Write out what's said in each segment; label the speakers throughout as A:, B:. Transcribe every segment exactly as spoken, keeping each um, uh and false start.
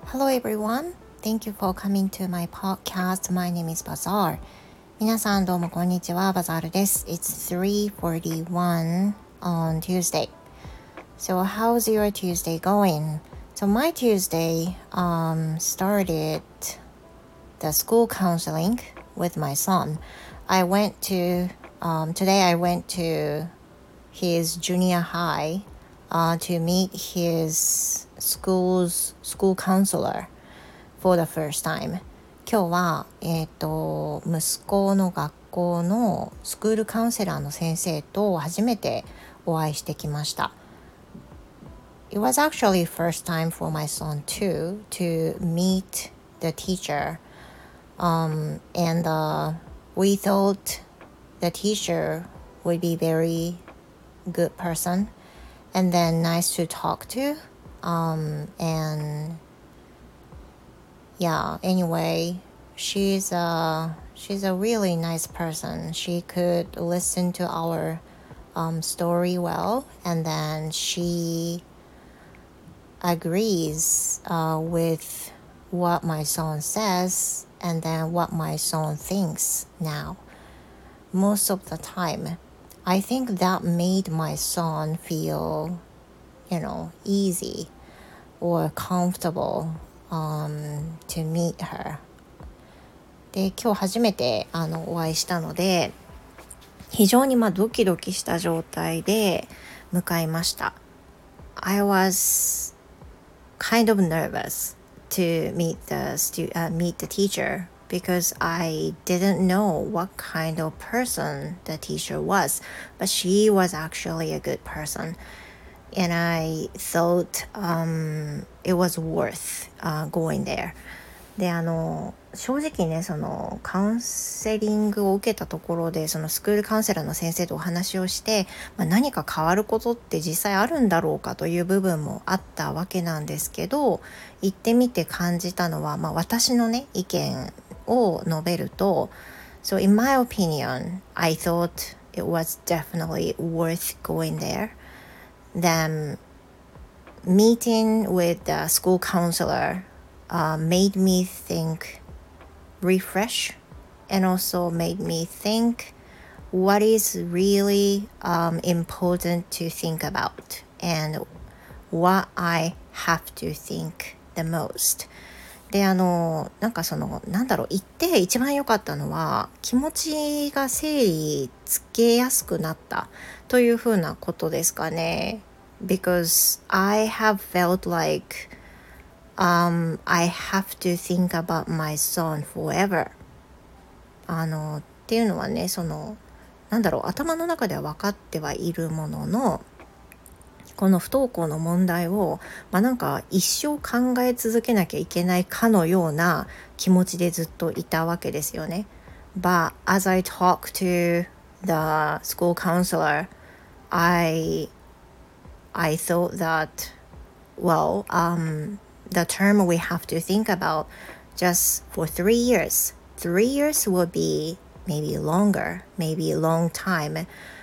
A: Hello everyone. Thank you for coming to my podcast. My name is Bazaar. 皆さんどうもこんにちは。バザールです。It's three forty-one on Tuesday. So how's your Tuesday going? So my Tuesday um, started the school counseling with my son. I went to, um, today I went to his junior high uh, to meet his school's school counselor for the first time. 今日は、えーと、息子の学校のスクールカウンセラーの先生と初めてお会いしてきました。It was actually first time for my son too to meet the teacher. Um, and uh, we thought the teacher would be very good person and then nice to talk to. Um, and yeah, anyway, she's a she's a really nice person. She could listen to our um, story well, and then she agrees uh, with what my son says and then what my son thinks now. Most of the time, I think that made my son feel, you know, easy or comfortable.Um, to meet her. で、今日初めてあのお会いしたので、非常にまあドキドキした状態で向かいました。I was kind of nervous to meet the stu- uh, meet the teacher because I didn't know what kind of person the teacher was, but she was actually a good person.And I thought um, it was worth、uh, going there. で、あの、正直ね、そのカウンセリングを受けたところで、そのスクールカウンセラーの先生とお話をして、まあ、何か変わることって実際あるんだろうかという部分もあったわけなんですけど、行ってみて感じたのは、まあ、私のね、意見を述べると、So in my opinion, I thought it was definitely worth going there.Then meeting with the school counselor uh, made me think refresh and also made me think what is really um, important to think about and what I have to think the most.で、あの、なんかその、なんだろう、言って一番良かったのは、気持ちが整理つけやすくなったというふうなことですかね。Because I have felt like um, I have to think about my son forever. あの、っていうのはね、その、なんだろう、頭の中では分かってはいるものの、この不登校の問題を、まあ、なんか一生考え続けなきゃいけないかのような気持ちでずっといたわけですよね。But as I talk to the school counselor, I, I thought that, well, um, the term we have to think about just for three years. Three years will be maybe longer, maybe a long time,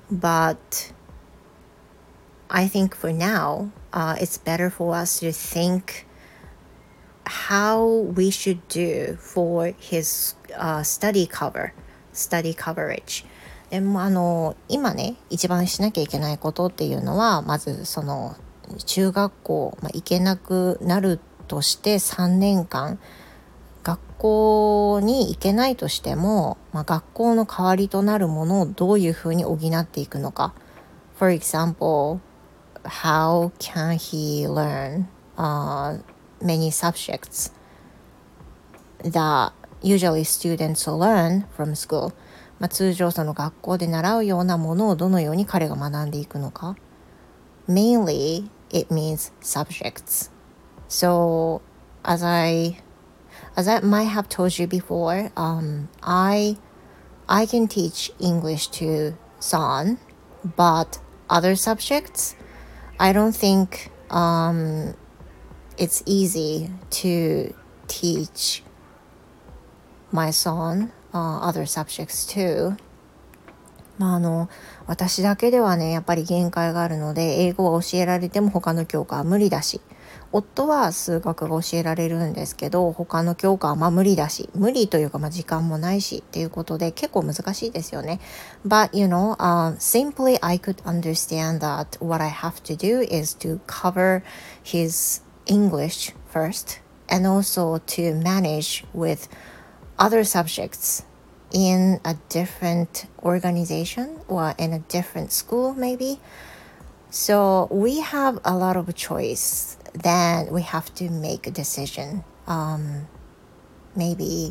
A: but...I think for now, uh, it's better for us to think how we should do for his、uh, study cover, study coverage. でもあの今ね一番しなきゃいけないことっていうのはまずその中学校、まあ、行けなくなるとしてさんねんかん学校に行けないとしても、まあ、学校の代わりとなるものをどういうふうに補っていくのか。For example,How can he learn uh, many subjects that usually students learn from school? まあ、通常その学校で習うようなものをどのように彼が学んでいくのか。Mainly, it means subjects. So, as I, as I might have told you before, um, I, I can teach English to Son, but other subjects,I don't think um, it's easy to teach my son uh, other subjects too. まああの私だけではねやっぱり限界があるので、英語は教えられても他の教科は無理だし、夫は数学が教えられるんですけど他の教科はまあ無理だし、無理というかまあ時間もないしっていうことで結構難しいですよね。 But you know、uh, simply I could understand that what I have to do is to cover his English first and also to manage with other subjects in a different organization or in a different school maybe. So we have a lot of choice. Then we have to make a decision. Um, maybe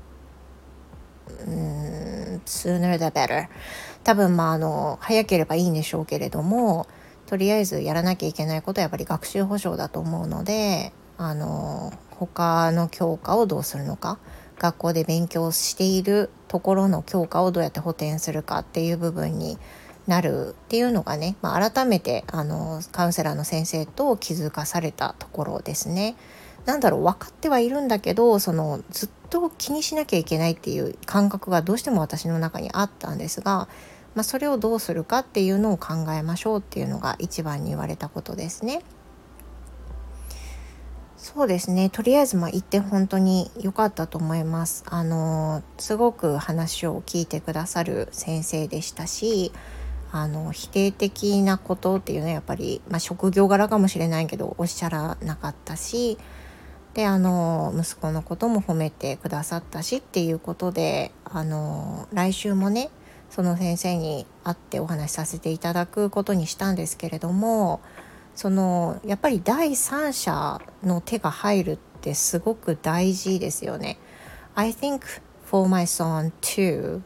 A: mm, sooner the better. 多分まああの早ければいいんでしょうけれども、とりあえずやらなきゃいけないことはやっぱり学習保障だと思うので、あの他の教科をどうするのか、学校で勉強しているところの教科をどうやって補填するかっていう部分になるっていうのがね、まあ、改めてあのカウンセラーの先生と気づかされたところですね。なんだろう、分かってはいるんだけど、そのずっと気にしなきゃいけないっていう感覚がどうしても私の中にあったんですが、まあ、それをどうするかっていうのを考えましょうっていうのが一番に言われたことですね。そうですね、とりあえずまあ言って本当に良かったと思います。あのすごく話を聞いてくださる先生でしたし、あの否定的なことっていうのはやっぱり、まあ、職業柄かもしれないけどおっしゃらなかったし、であの息子のことも褒めてくださったしっていうことで、あの来週もねその先生に会ってお話しさせていただくことにしたんですけれども、そのやっぱり第三者の手が入るってすごく大事ですよね。 I think for my son too,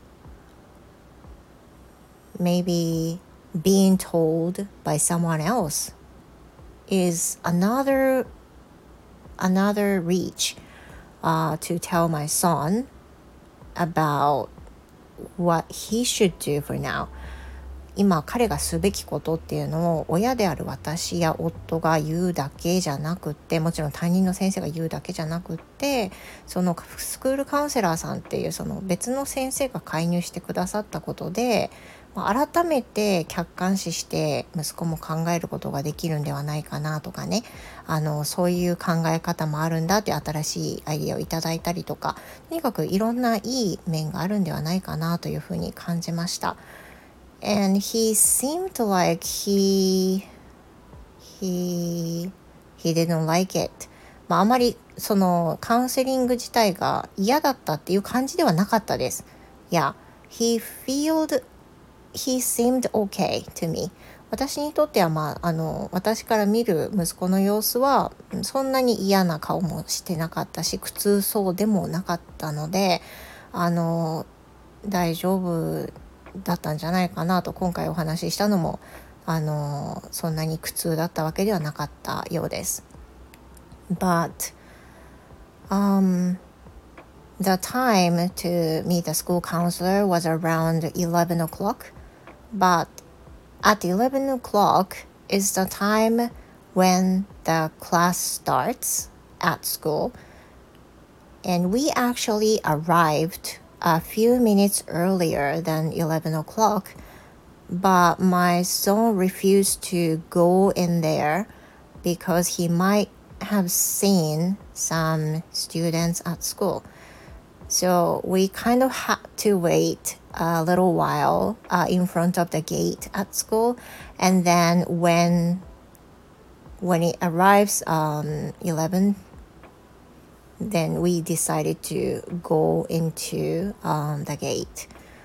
A: maybe being told by someone else is another another reach uh, to tell my son about what he should do for now. 今彼がすべきことっていうのを親である私や夫が言うだけじゃなくって、もちろん担任の先生が言うだけじゃなくって、そのスクールカウンセラーさんっていうその別の先生が介入してくださったことで、改めて客観視して息子も考えることができるんではないかなとかね、あのそういう考え方もあるんだって新しいアイデアをいただいたりとか、とにかくいろんないい面があるんではないかなというふうに感じました。And he seemed like he he he didn't like it. まああまりそのカウンセリング自体が嫌だったっていう感じではなかったです。Yeah, he felt he seemed okay to me. 私にとってはまああの私から見る息子の様子はそんなに嫌な顔もしてなかったし、苦痛そうでもなかったので、あの大丈夫だったんじゃないかなと。今回お話ししたのもあのそんなに苦痛だったわけではなかったようです。 But um, the time to meet the school counselor was around eleven o'clock, but at eleven o'clock is the time when the class starts at school, and we actually arrived a few minutes earlier than eleven o'clock, but my son refused to go in there because he might have seen some students at school. So we kind of had to wait a little while uh, in front of the gate at school, and then when when it arrives um, eleven, then we decided to go into um, the gate.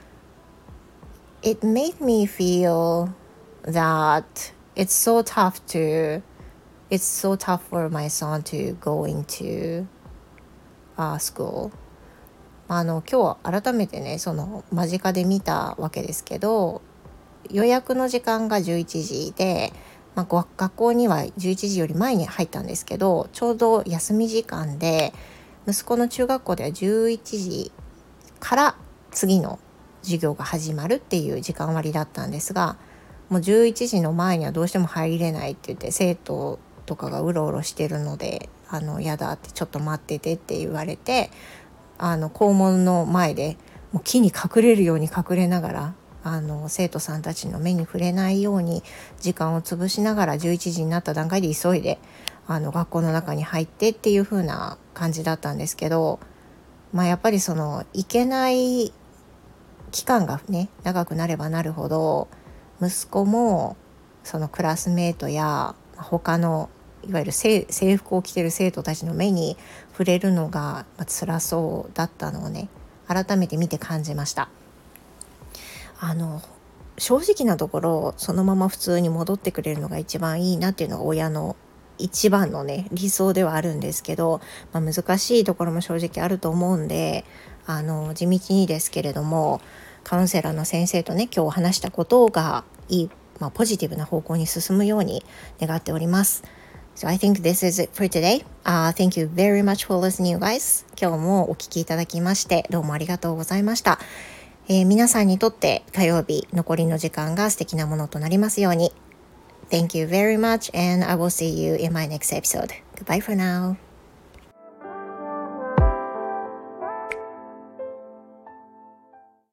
A: It made me feel that it's so tough to it's so tough for my son to go into uh, school. あの今日改めてねその間近で見たわけですけど、予約の時間がじゅういちじで、まあ、学校にはじゅういちじより前に入ったんですけど、ちょうど休み時間で息子の中学校ではじゅういちじから次の授業が始まるっていう時間割だったんですが、もうじゅういちじの前にはどうしても入れないって言って、生徒とかがうろうろしてるのであのやだってちょっと待っててって言われて、あの校門の前でもう木に隠れるように隠れながらあの生徒さんたちの目に触れないように時間を潰しながらじゅういちじになった段階で急いであの学校の中に入ってっていう風な感じだったんですけど、まあやっぱりその行けない期間がね長くなればなるほど、息子もそのクラスメートや他のいわゆる制服を着てる生徒たちの目に触れるのが辛そうだったのをね改めて見て感じました。あの正直なところそのまま普通に戻ってくれるのが一番いいなっていうのが親の一番のね理想ではあるんですけど、まあ、難しいところも正直あると思うんで、あの地道にですけれどもカウンセラーの先生とね今日話したことがいい、まあ、ポジティブな方向に進むように願っております。So I think this is it for today. Uh, thank you very much for listening, you guys. 今日もお聞きいただきましてどうもありがとうございました。えー、皆さんにとって火曜日残りの時間が素敵なものとなりますように。Thank you very much and I will see you in my next episode. Goodbye for now.